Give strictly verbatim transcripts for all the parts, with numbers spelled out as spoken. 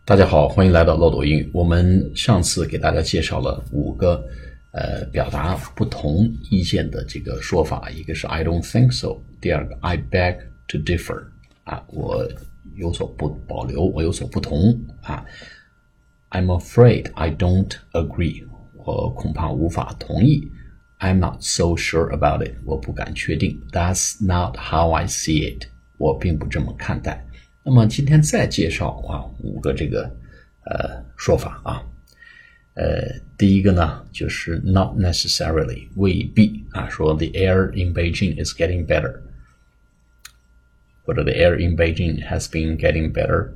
大家好，欢迎来到漏斗英语。我们上次给大家介绍了五个呃表达不同意见的这个说法，一个是 I don't think so， 第二个 I beg to differ 啊，我有所不保留，我有所不同啊。I'm afraid I don't agree， 我恐怕无法同意。I'm not so sure about it， 我不敢确定。That's not how I see it， 我并不这么看待。那么今天再介绍啊五个这个呃说法啊，呃第一个呢就是 not necessarily 未必啊，说 the air in Beijing is getting better， 或者 the air in Beijing has been getting better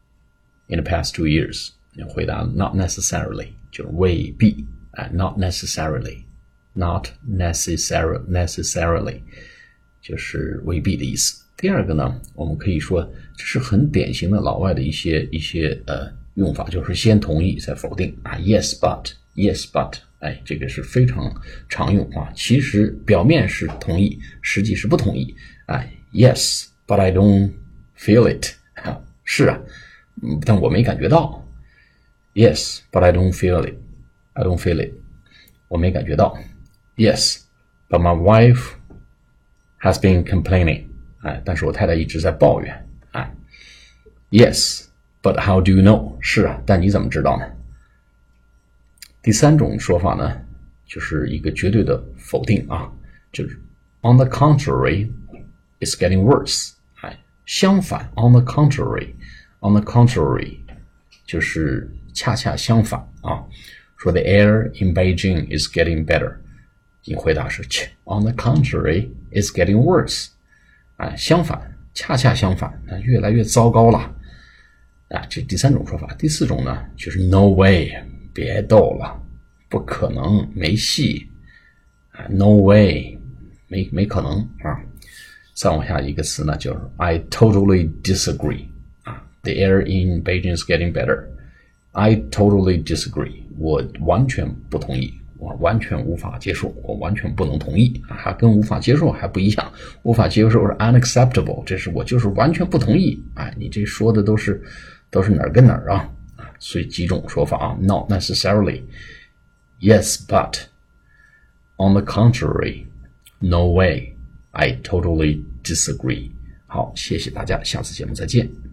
in the past two years。回答 not necessarily 就是未必啊 ，not necessarily not necessarily necessarily 就是未必的意思。第二个呢，我们可以说这是很典型的老外的一些一些呃用法，就是先同意再否定啊 ，yes but yes but， 哎，这个是非常常用啊。其实表面是同意，实际是不同意啊 ，yes but I don't feel it， 是啊，嗯，但我没感觉到。Yes but I don't feel it， I don't feel it， 我没感觉到。Yes but my wife has been complaining。哎，但是我太太一直在抱怨。哎 ，Yes, but how do you know？ 是啊，但你怎么知道呢？第三种说法呢，就是一个绝对的否定啊，就是 On the contrary, it's getting worse。哎，相反 ，On the contrary, on the contrary， 就是恰恰相反啊。说 The air in Beijing is getting better， 你回答是 On the contrary, it's getting worse。啊，相反，恰恰相反，那越来越糟糕了。啊，这第三种说法。第四种呢，就是 no way， 别逗了，不可能，没戏。啊 ，no way， 没没可能啊。再往下一个词呢，就是 I totally disagree。啊 ，the air in Beijing is getting better。I totally disagree， 我完全不同意。我完全无法接受，我完全不能同意啊，跟无法接受还不一样。无法接受是 unacceptable， 这是我就是完全不同意。哎，你这说的都是都是哪儿跟哪儿啊？所以几种说法啊 ，not necessarily， yes but， on the contrary， no way， I totally disagree。好，谢谢大家，下次节目再见。